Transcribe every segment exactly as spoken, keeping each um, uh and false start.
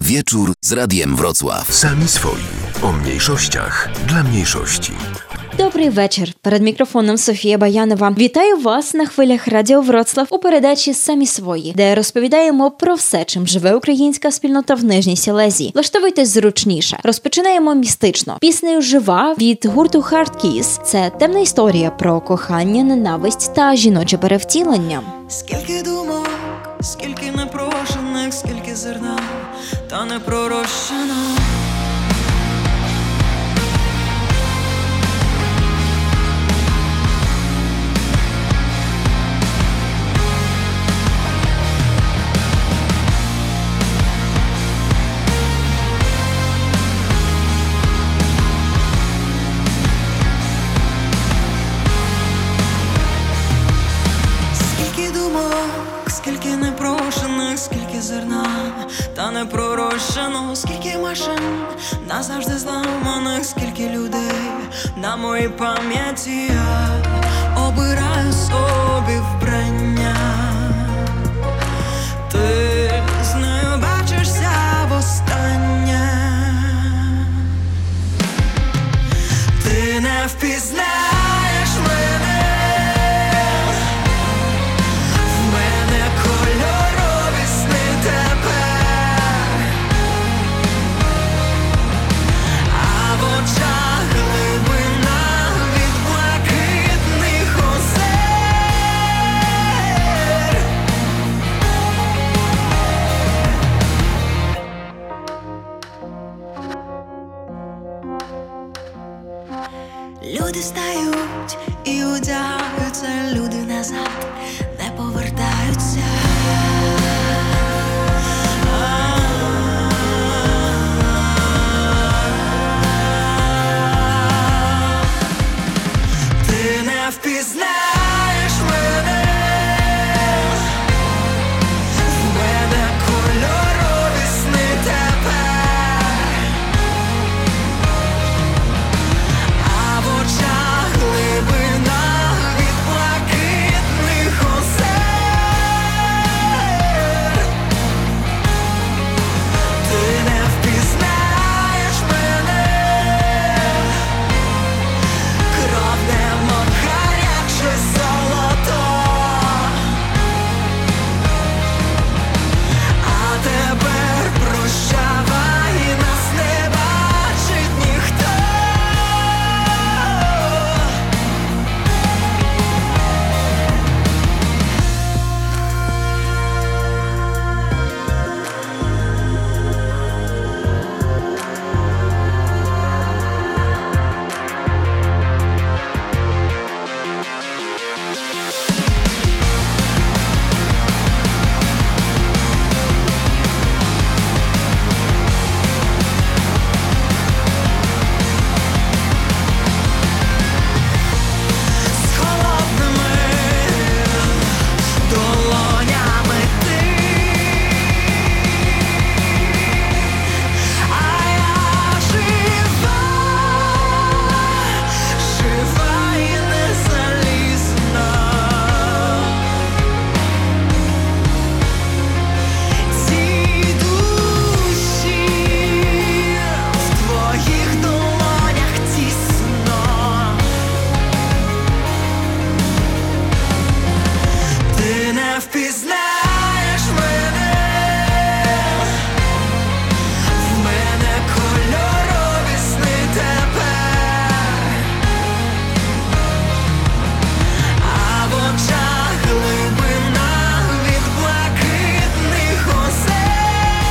Wieczór z Radiem Wrocław. Sami swoi. O mniejszościach dla mniejszości. Добрий вечір. Перед мікрофоном Софія Баянова. Вітаю вас на хвилях Радіо Вроцлав у передачі «Самі свої», де розповідаємо про все, чим живе українська спільнота в Нижній Сілезії. Влаштовуйтесь зручніше. Розпочинаємо містично. Піснею «Жива» від гурту Hard Kiss. Це темна історія про кохання, ненависть та жіноче перевтілення. Скільки думок, скільки непрошених, скільки зерна, та не пророщено. Скільки непрошених, скільки зерна, та не пророщено, скільки машин назавжди зламаних, скільки людей на моїй пам'яті. Я обираю собі вбрання. Ти з нею бачишся востаннє. Ти не впізнаєш мене. Люди стають і одягаються, люди назад не повертаються. Ти не впізнаєш мене. В мене кольорові сни тепер. А в очах глибина від блакитних озер. Ти не впізнаєш мене. Кров немов гаряче золото. А тепер прощавай, нас не бачить ніхто. З холодними долонями ти. А я жива, жива і не залізна. Ці душі в твоїх долонях тісно. Ти не впізнаєш мене. В мене кольорові сни тепер. А в очах глибина від блакитних озер.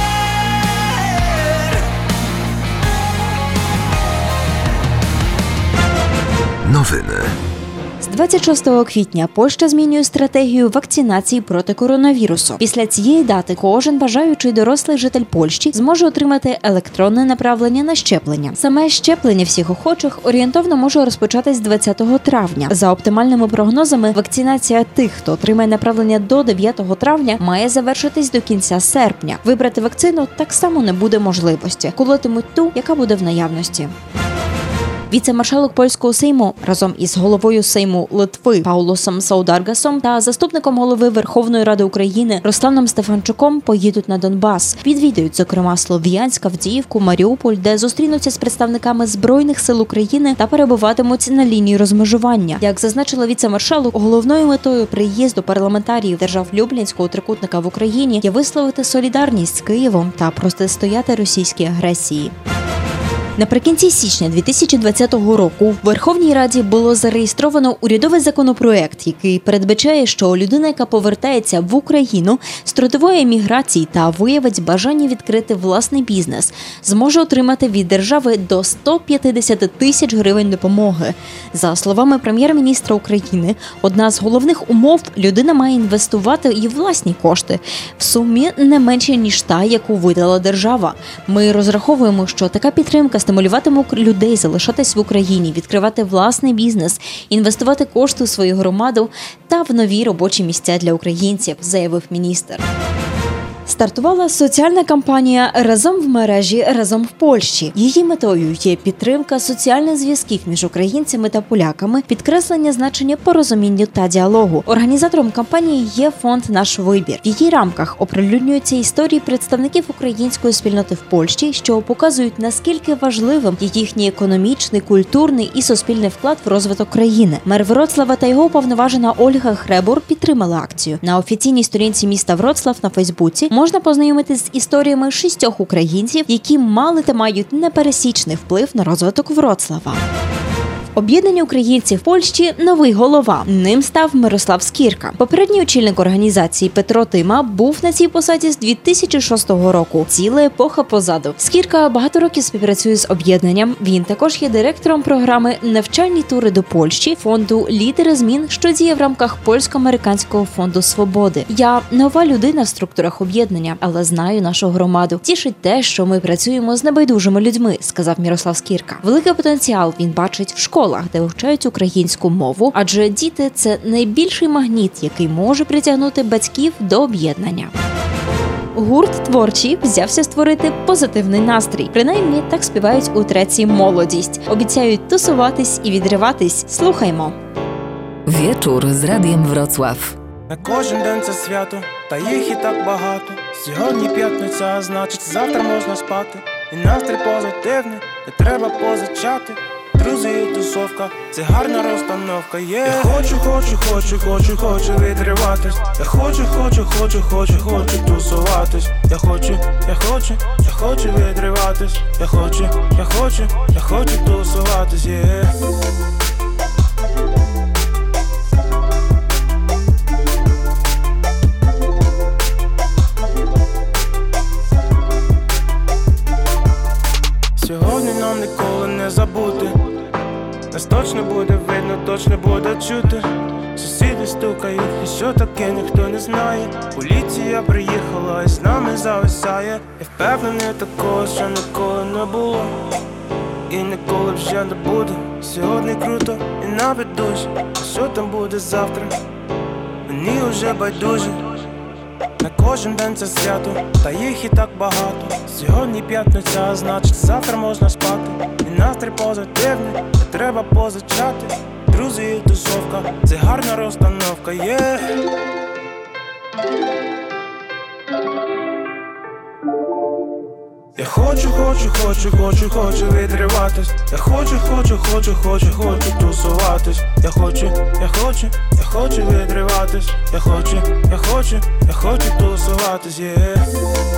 Nowiny. З двадцять шостого квітня Польща змінює стратегію вакцинації проти коронавірусу. Після цієї дати кожен бажаючий дорослий житель Польщі зможе отримати електронне направлення на щеплення. Саме щеплення всіх охочих орієнтовно може розпочатись двадцятого травня. За оптимальними прогнозами, вакцинація тих, хто отримає направлення до дев'ятого травня, має завершитись до кінця серпня. Вибрати вакцину так само не буде можливості. Колотимуть ту, яка буде в наявності. Віце-маршалок польського Сейму разом із головою Сейму Литви Паулосом Саударгасом та заступником голови Верховної Ради України Русланом Стефанчуком поїдуть на Донбас. Відвідають, зокрема, Слов'янськ, Авдіївку, Маріуполь, де зустрінуться з представниками Збройних сил України та перебуватимуть на лінії розмежування. Як зазначила віце-маршалок, головною метою приїзду парламентаріїв держав Люблінського трикутника в Україні є висловити солідарність з Києвом та протистояти російській агресії. Наприкінці січня дві тисячі двадцятого року в Верховній Раді було зареєстровано урядовий законопроект, який передбачає, що людина, яка повертається в Україну з трудової еміграції та виявить бажання відкрити власний бізнес, зможе отримати від держави до сто п'ятдесят тисяч гривень допомоги. За словами прем'єр-міністра України, одна з головних умов – людина має інвестувати і власні кошти в сумі не менше, ніж та, яку видала держава. Ми розраховуємо, що така підтримка стимулюватиме людей залишатись в Україні, відкривати власний бізнес, інвестувати кошти у свою громаду та в нові робочі місця для українців, заявив міністр. Стартувала соціальна кампанія «Разом в мережі, разом в Польщі». Її метою є підтримка соціальних зв'язків між українцями та поляками, підкреслення значення порозумінню та діалогу. Організатором кампанії є фонд «Наш вибір». В її рамках оприлюднюються історії представників української спільноти в Польщі, що показують, наскільки важливим є їхній економічний, культурний і суспільний вклад в розвиток країни. Мер Вроцлава та його уповноважена Ольга Хребур підтримали акцію. На офіційній сторінці міста Вроцлав на Фейсбуці можна познайомитись з історіями шістьох українців, які мали та мають непересічний вплив на розвиток Вроцлава. Об'єднання українців в Польщі – новий голова. Ним став Мирослав Скірка. Попередній очільник організації Петро Тима був на цій посаді з дві тисячі шостого року. Ціла епоха позаду. Скірка багато років співпрацює з об'єднанням. Він також є директором програми «Навчальні тури до Польщі» фонду «Лідери змін», що діє в рамках Польсько-американського фонду свободи. Я нова людина в структурах об'єднання, але знаю нашу громаду. Тішить те, що ми працюємо з небайдужими людьми, сказав Мирослав Скірка. Великий потенціал він бачить в школі, де вивчають українську мову, адже діти – це найбільший магніт, який може притягнути батьків до об'єднання. Гурт «Творчі» взявся створити позитивний настрій. Принаймні, так співають у треці «Молодість». Обіцяють тусуватись і відриватись. Слухаймо. Wieczór z Radiem Wrocław. На кожен день це свято, та їх і так багато. Сьогодні п'ятниця, а значить завтра можна спати. І настрій позитивний, не треба позичати. Друзі і тусовка, це гарна розстановка, є yeah. Я хочу, хочу, хочу, хочу, хочу відриватись. Я хочу, хочу, хочу, хочу, хочу тусуватись. Я хочу, я хочу, я хочу відриватись. Я хочу, я хочу, я хочу тусуватись, є yeah. Сьогодні нам ніколи не забути. Нас точно буде видно, точно буде чути. Сусіди стукають, і що таке, ніхто не знає. Поліція приїхала і з нами зависає. Я впевнений такого, що ніколи не було і ніколи вже не буде. Сьогодні круто і навіть дуже. А що там буде завтра, мені вже байдуже. На кожен день це свято, та їх і так багато. Сьогодні п'ятниця, а значить завтра можна спати. І настрій позитивний, не треба позичати. Друзі і тусовка, це гарна розстановка, є yeah. Я хочу, хочу, хочу, хочу, хочу відриватись. Я хочу, хочу, хочу, хочу, хочу тусуватись. Я хочу, я хочу, я хочу відриватись. Я хочу, я хочу, я хочу тусуватись, є yeah.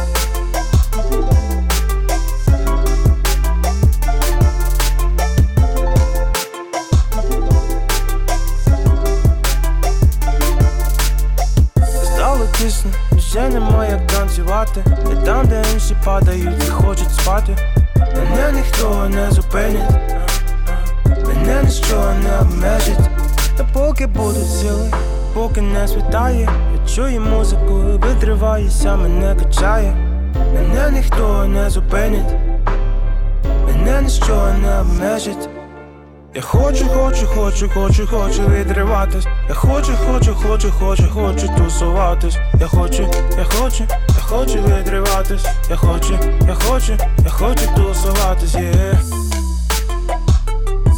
Стало тісно, вже немає як танцювати. І там, де інші падають і хочуть спати. Мене ніхто не зупинить, мене ніщо не обмежить. Та поки будуть сили, поки не світає, я чую музику, відриваюся, мене качає. Мене ніхто не зупинить, мене ніщо не обмежить. Я хочу, хочу, хочу, хочу, хочу відриватись. Я хочу, хочу, хочу, хочу, хочу тусуватись. Я хочу, я хочу, я хочу відриватись. Я хочу, я хочу, я хочу тусуватись, є yeah.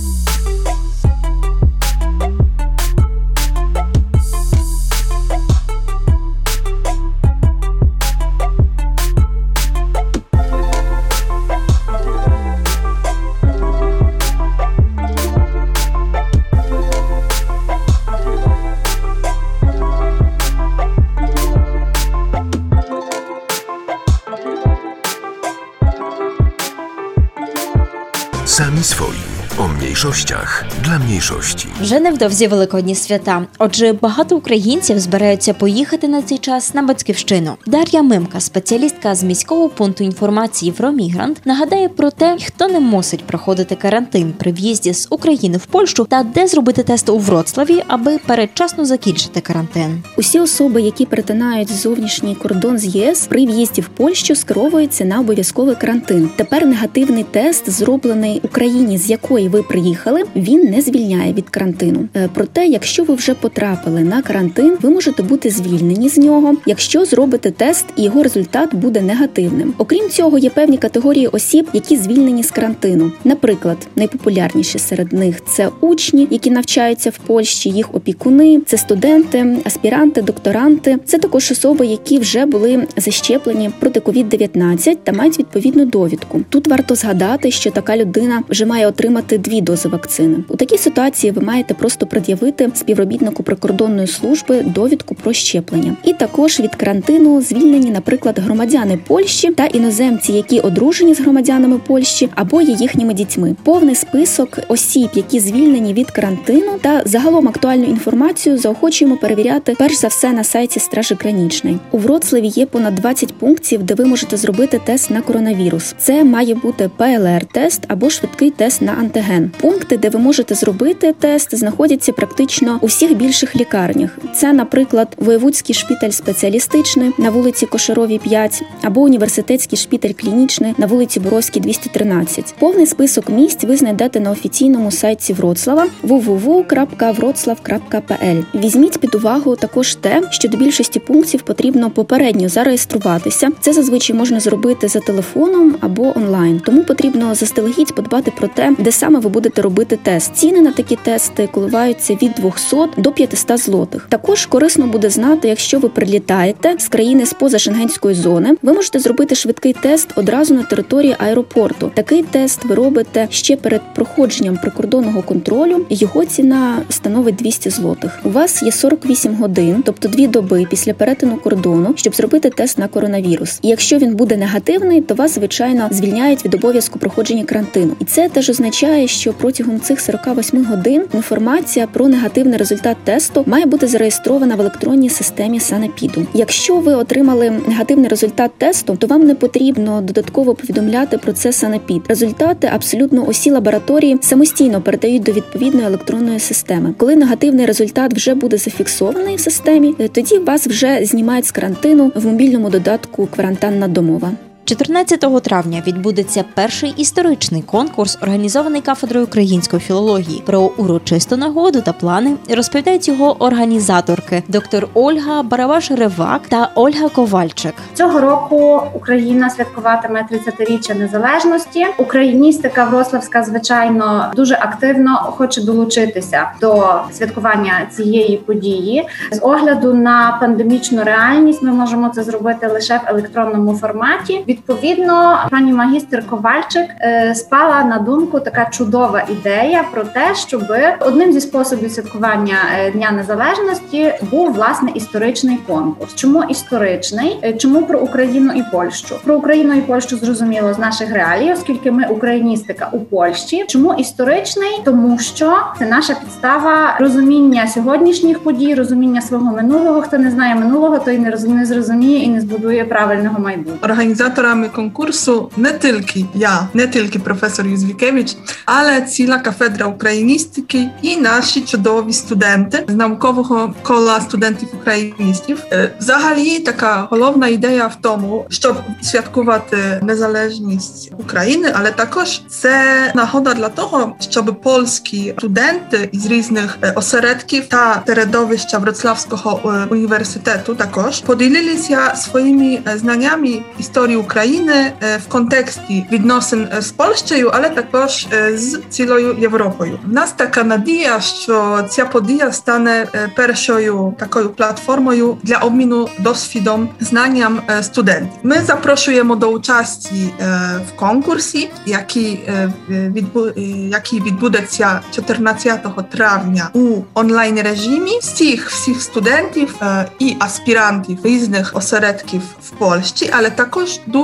Sami swoi. O mniejszościach dla mniejszości. Вже невдовзі Великодні свята. Отже, багато українців збираються поїхати на цей час на батьківщину. Дар'я Мимка, спеціалістка з міського пункту інформації «Фромігрант», нагадає про те, хто не мусить проходити карантин при в'їзді з України в Польщу та де зробити тест у Вроцлаві, аби передчасно закінчити карантин. Усі особи, які перетинають зовнішній кордон з ЄС, при в'їзді в Польщу скеровуються на обов'язковий карантин. Тепер негативний тест, зроблений в Україні, з якої ви приїхали, він не звільняє від карантину. Проте, якщо ви вже потрапили на карантин, ви можете бути звільнені з нього, якщо зробите тест і його результат буде негативним. Окрім цього, є певні категорії осіб, які звільнені з карантину. Наприклад, найпопулярніші серед них – це учні, які навчаються в Польщі, їх опікуни, це студенти, аспіранти, докторанти. Це також особи, які вже були защеплені проти ковід дев'ятнадцять та мають відповідну довідку. Тут варто згадати, що така людина вже має отримати дві дози вакцини. У такій ситуації ви маєте просто пред'явити співробітнику прикордонної служби довідку про щеплення. І також від карантину звільнені, наприклад, громадяни Польщі та іноземці, які одружені з громадянами Польщі або є їхніми дітьми. Повний список осіб, які звільнені від карантину, та загалом актуальну інформацію заохочуємо перевіряти перш за все на сайті Стражі Гранічної. У Вроцлаві є понад двадцять пунктів, де ви можете зробити тест на коронавірус. Це має бути пе ел ар-тест або швидкий тест на антиген. Пункти, де ви можете зробити тест, знаходяться практично у всіх більших лікарнях. Це, наприклад, Воєвудський шпиталь спеціалістичний на вулиці Кошаровій п'ять або Університетський шпиталь клінічний на вулиці Боровській двісті тринадцять. Повний список місць ви знайдете на офіційному сайті Вроцлава дабл ю дабл ю дабл ю крапка вроцлав крапка пе ел. Візьміть під увагу також те, що до більшості пунктів потрібно попередньо зареєструватися. Це зазвичай можна зробити за телефоном або онлайн. Тому потрібно заздалегідь подбати про те, де саме ви будете робити тест. Ціни на такі тести коливаються від двісті до п'ятсот злотих. Також корисно буде знати, якщо ви прилітаєте з країни з-поза шенгенської зони, ви можете зробити швидкий тест одразу на території аеропорту. Такий тест ви робите ще перед проходженням прикордонного контролю. Його ціна становить двісті злотих. У вас є сорок вісім годин, тобто дві доби після перетину кордону, щоб зробити тест на коронавірус. І якщо він буде негативний, то вас, звичайно, звільняють від обов'язку проходження карантину. І це теж означає, що протягом цих сорок вісім годин інформація про негативний результат тесту має бути зареєстрована в електронній системі Санепіду. Якщо ви отримали негативний результат тесту, то вам не потрібно додатково повідомляти про це Санепід. Результати абсолютно усі лабораторії самостійно передають до відповідної електронної системи. Коли негативний результат вже буде зафіксований в системі, тоді вас вже знімають з карантину в мобільному додатку «Кварантанна домова». чотирнадцятого травня відбудеться перший історичний конкурс, організований кафедрою української філології. Про урочисту нагоду та плани розповідають його організаторки доктор Ольга Барабаш-Ревак та Ольга Ковальчик. Цього року Україна святкуватиме тридцятиріччя незалежності. Україністика вроцлавська, звичайно, дуже активно хоче долучитися до святкування цієї події. З огляду на пандемічну реальність ми можемо це зробити лише в електронному форматі. Відповідно, пані магістр Ковальчик е, спала на думку така чудова ідея про те, щоб одним зі способів святкування е, Дня Незалежності був, власне, історичний конкурс. Чому історичний? Е, чому про Україну і Польщу? Про Україну і Польщу зрозуміло з наших реалій, оскільки ми україністика у Польщі. Чому історичний? Тому що це наша підстава розуміння сьогоднішніх подій, розуміння свого минулого. Хто не знає минулого, той не розуміє, не зрозуміє і не збудує правильного майбутнього. Організаторами конкурсу не тільки я, не тільки професор Юзвікевич, але ціла кафедра україністики і наші чудові студенти з наукового кола студентів-україністів. Взагалі, така головна ідея в тому, щоб святкувати незалежність України, але також це нагода для того, щоб польські студенти із різних осередків та середовища Вроцлавського університету також поділилися своїми знаннями історії України в контексті відносин з Польщею, але також з цілою Європою. В нас така надія, що ця подія стане першою такою платформою для обміну досвідом, знанням студентів. Ми запрошуємо до участі в конкурсі, який, відбу... який відбудеться чотирнадцятого травня у онлайн режимі. Всіх всіх студентів і аспірантів різних осередків в Польщі, але також дуже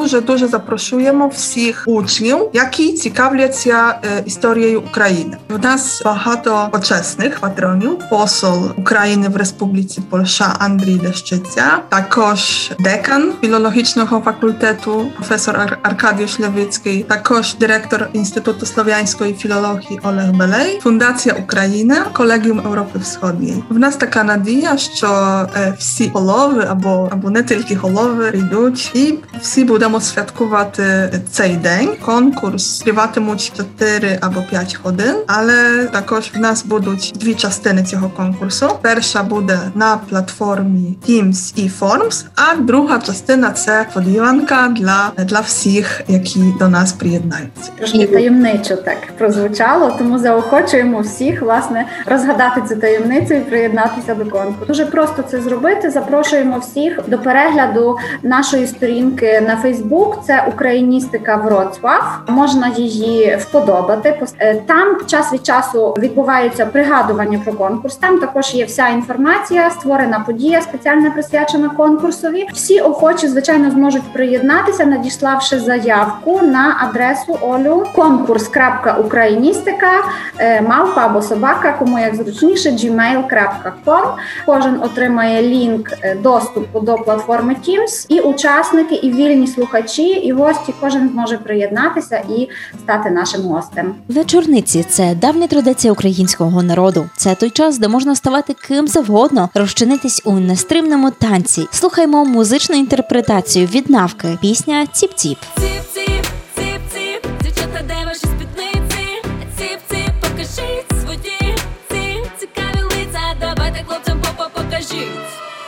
дуже-дуже запрошуємо всіх учнів, які цікавляться е, історією України. У нас багато почесних патронів. Посол України в Республіці Польща Андрій Лещиця, також декан філологічного факультету професор Ар- Аркадіуsz Левицький, також директор Інституту слов'янської філології Олег Белей, Фундація Україна, Колегіум Європи Всходньої. В нас така надія, що е, всі голови або, або не тільки голови прийдуть і всі будемо святкувати цей день. Конкурс триватимуть чотири або п'ять годин, але також в нас будуть дві частини цього конкурсу. Перша буде на платформі Teams і Forms, а друга частина – це подіванка для, для всіх, які до нас приєднаються. Трошки таємничо так прозвучало, тому заохочуємо всіх, власне, розгадати цю таємницю і приєднатися до конкурсу. Дуже просто це зробити. Запрошуємо всіх до перегляду нашої сторінки на Фейсбук. Це «Україністика Вроцлав». Можна її вподобати. Там час від часу відбувається пригадування про конкурс. Там також є вся інформація, створена подія, спеціально присвячена конкурсові. Всі охочі, звичайно, зможуть приєднатися, надіславши заявку на адресу Олю конкурс.україністика, мавпа або собака, кому як зручніше, джімейл крапка ком. Кожен отримає лінк доступу до платформи Teams, і учасники, і вільні слухачі, і гості, кожен зможе приєднатися і стати нашим гостем. Вечорниці – це давня традиція українського народу. Це той час, де можна ставати ким завгодно, розчинитись у нестримному танці. Слухаймо музичну інтерпретацію від Навки. Пісня «Ціп-ціп». Ціп-ціп, ціп-ціп, дівчата, де ваші спідниці? Ціп-ціп, покажіть свої ці цікаві лиця, давайте хлопцям попа покажіть.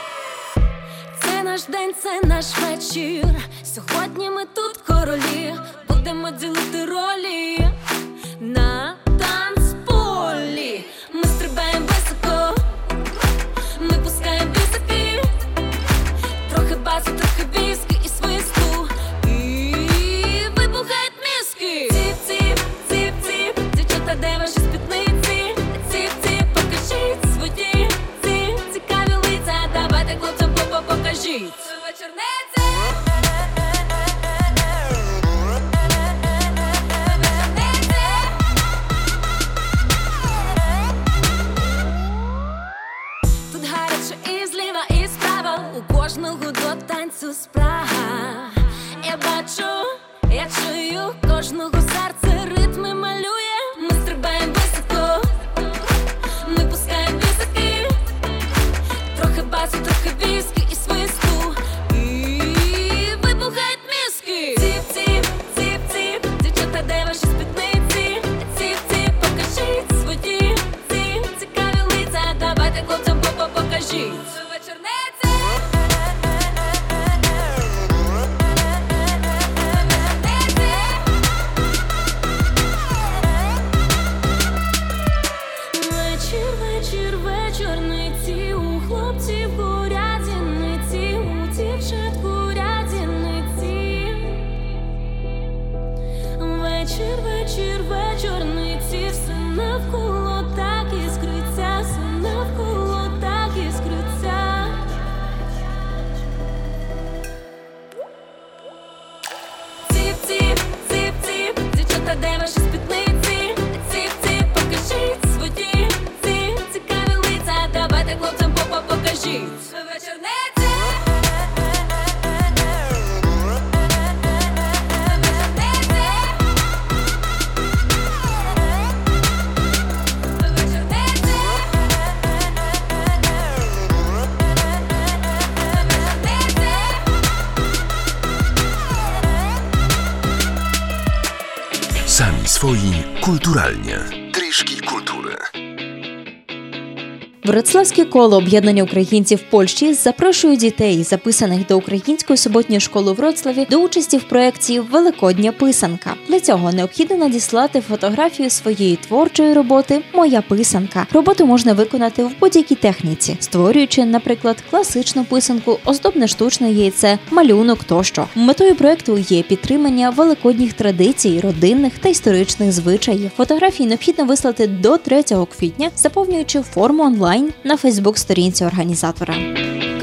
Це наш день, це наш вечір, сьогодні ми тут королі, будемо ділити ролі на танцполі. Ми стрибаємо високо, ми пускаємо бісики, трохи басу, трохи віскі і свисту, і вибухають мізки. Ціп-ціп, ціп-ціп, дівчата, де ваші спідниці? Ціп-ціп, покажіть свої ці цікаві лиця, давайте хлопцям попа покажіть. Вечорниці! Тут гаряче і зліва, і справа, у кожного до танцю спрага. Я бачу, я чую, кожного серце ритми малює. Ми стрибаємо високо, ми пускаємо бісики, трохи басу, трохи віскі і свисту, і вибухають мізки. Ціп-ціп, ціп-ціп, дівчата, де ваші спідниці? Ціп-ціп, покажіть свої ці цікаві лиця, давайте хлопцям попа покажіть. Вечорниці! Вечір, вечір, вечорниці, у хлопців горять зіниці, у дівчат горять зіниці. Вечір, вечір, вечорниці, все навколо так іскриться, все навколо так іскриться. Ціп-ціп, ціп-ціп, дівчата, де ваші спідниці? Ціп-ціп, покажіть свої ці цікаві лиця, давайте хлопцям попа покажіть. Вечорниці! Sami swoi kulturalnie. Трішки культури. Вроцлавське коло об'єднання українців в Польщі запрошує дітей, записаних до Української суботньої школи у Вроцлаві, до участі в проєкті «Великодня писанка». Для цього необхідно надіслати фотографію своєї творчої роботи «Моя писанка». Роботу можна виконати в будь-якій техніці, створюючи, наприклад, класичну писанку, оздобне штучне яйце, малюнок тощо. Метою проєкту є підтримання великодніх традицій, родинних та історичних звичаїв. Фотографії необхідно вислати до третього квітня, заповнюючи форму онлайн на Фейсбук-сторінці організатора.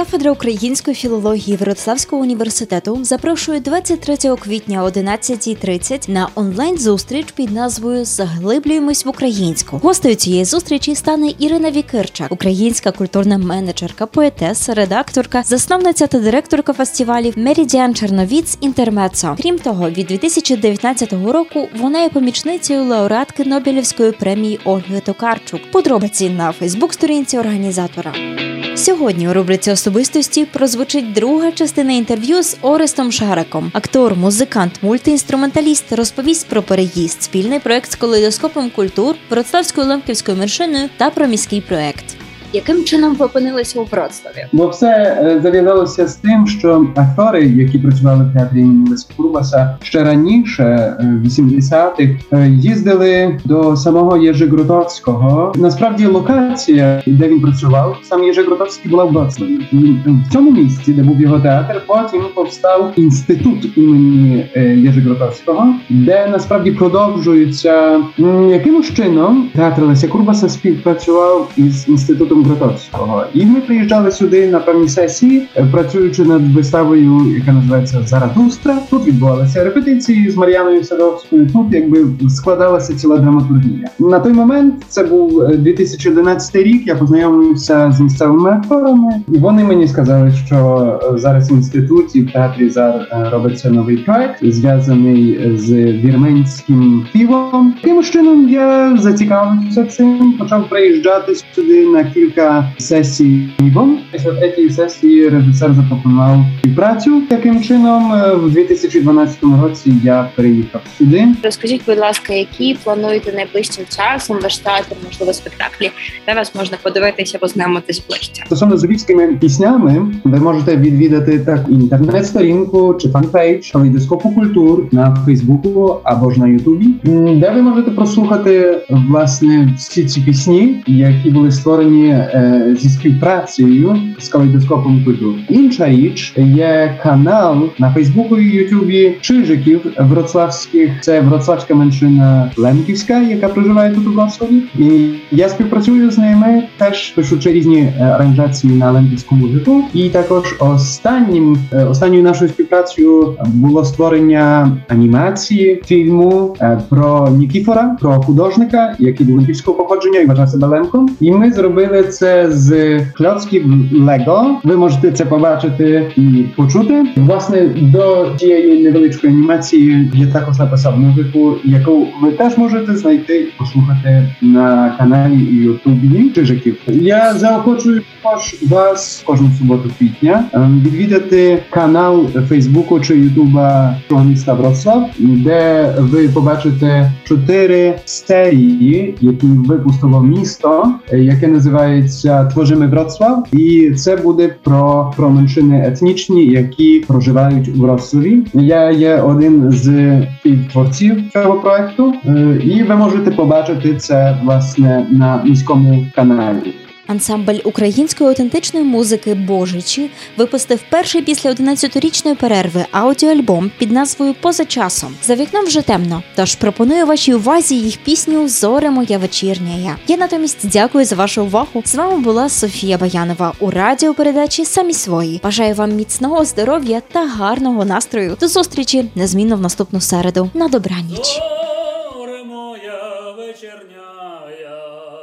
Кафедра української філології Вроцлавського університету запрошує двадцять третього квітня о одинадцятій тридцять на онлайн-зустріч під назвою «Заглиблюємось в українську». Гостею цієї зустрічі стане Ірина Вікирчак, українська культурна менеджерка, поетеса, редакторка, засновниця та директорка фестивалів «Меридіан Черновіць Інтермецо». Крім того, від дві тисячі дев'ятнадцятого року вона є помічницею лауреатки Нобелівської премії Ольги Токарчук. Подробиці на фейсбук-сторінці організатора. Сьогодні у рубриці «Особистості» прозвучить друга частина інтерв'ю з Орестом Шараком. Актор, музикант, мультиінструменталіст розповість про переїзд, спільний проект з калейдоскопом культур, Вроцлавською лемківською меншиною та про міський проект. Яким чином ви опинилися у Вроцлаві? Бо все е, зав'язалося з тим, що актори, які працювали в театрі імені Леся Курбаса ще раніше, е, в вісімдесятих, е, їздили до самого Єжи Гротовського. Насправді локація, де він працював, сам Єжи Гротовський була в Вроцлаві. І в цьому місці, де був його театр, потім повстав інститут імені е, Єжи Гротовського, де насправді продовжується м, якимось чином театр Леся Курбаса співпрацював із інститутом Гротовського. І ми приїжджали сюди на певні сесії, працюючи над виставою, яка називається «Заратустра». Тут відбувалися репетиції з Мар'яною Садовською, тут якби складалася ціла драматургія. На той момент, це був дві тисячі одинадцятий рік, я познайомився з місцевими акторами, і вони мені сказали, що зараз в інституті, в театрі «Зар» робиться новий проект, зв'язаний з вірменським співом. Таким чином я зацікавився цим, почав приїжджати сюди на кілька сесій. Після третьої сесії режисер запропонував співпрацю. Таким чином, в дві тисячі дванадцятому році я приїхав сюди. Розкажіть, будь ласка, які плануєте найближчим часом ваш театр, можливо, спектаклі, де вас можна подивитися, познайомитись ближче? Стосовно з львівськими піснями, ви можете відвідати так інтернет-сторінку чи фан-пейдж калейдоскопу культур на Фейсбуку або ж на Ютубі, де ви можете прослухати, власне, всі ці пісні, які були створені е, зі співпрацею з калейдоскопом культур. Інша річ, є канал на Фейсбуку і Ютубі Чижиків вроцлавських. Це вроцлавська меншина лемківська, яка проживає тут у Вроцлаві. І я співпрацюю з ними, теж пишучи різні аранжації на лемківську музику. І також останнім, останньою нашою співпрацею було створення анімації фільму про Нікіфора, про художника, який був лемківського походження і вважав себе лемком. І ми зробили це з кльоцків Лего. Ви можете це побачити і почути. Власне, до цієї невеличкої анімації я також написав музику, яку ви теж можете знайти і послухати на каналі і Ютубі Чижиків. Я заохочую також вас кожну суботу квітня відвідати канал Фейсбуку чи Ютуба цього міста Вроцлав, де ви побачите чотири серії, які випустило місто, яке називається «Творимо Вроцлав». І це буде про, про меншини етнічні, які проживають у Вроцлаві. Я є один з співтворців цього проекту, і ви можете побачити це, власне, на міському каналі. Ансамбль української аутентичної музики «Божичі» випустив перший після одинадцятирічної перерви аудіоальбом під назвою «Поза часом». За вікном вже темно, тож пропоную вашій увазі їх пісню «Зоре моя вечірняя». Я натомість дякую за вашу увагу. З вами була Софія Баянова у радіопередачі «Самі свої». Бажаю вам міцного здоров'я та гарного настрою. До зустрічі незмінно в наступну середу. На добраніч. Зоре моя вечірняя,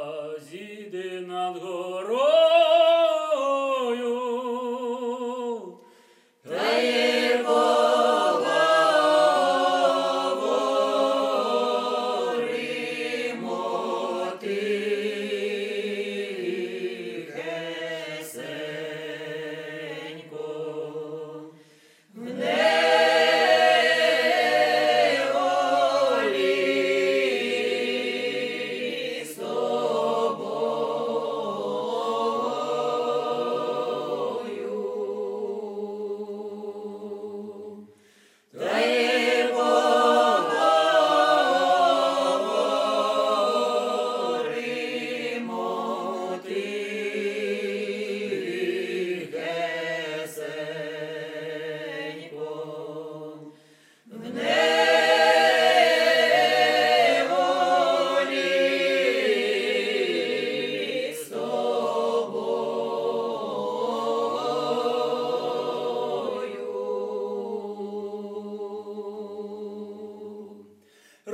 зійди над горою, та є поговоримо тихесенько, в неволі.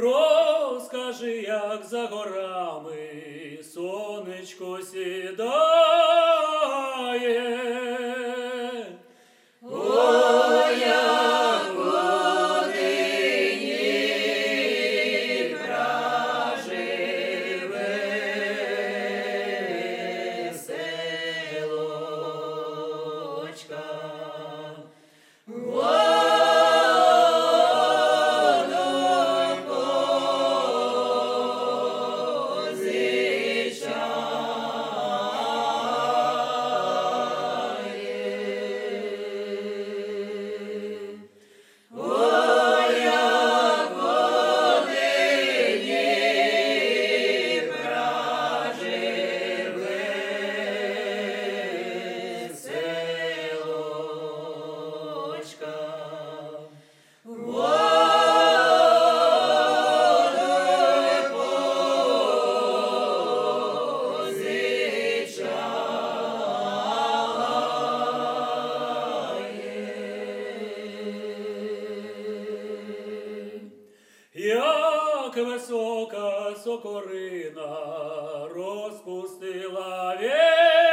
розкажи, як за горами сонечко сідає. Ой, як годині проживе селочка. Як висока сокорина розпустила вітер,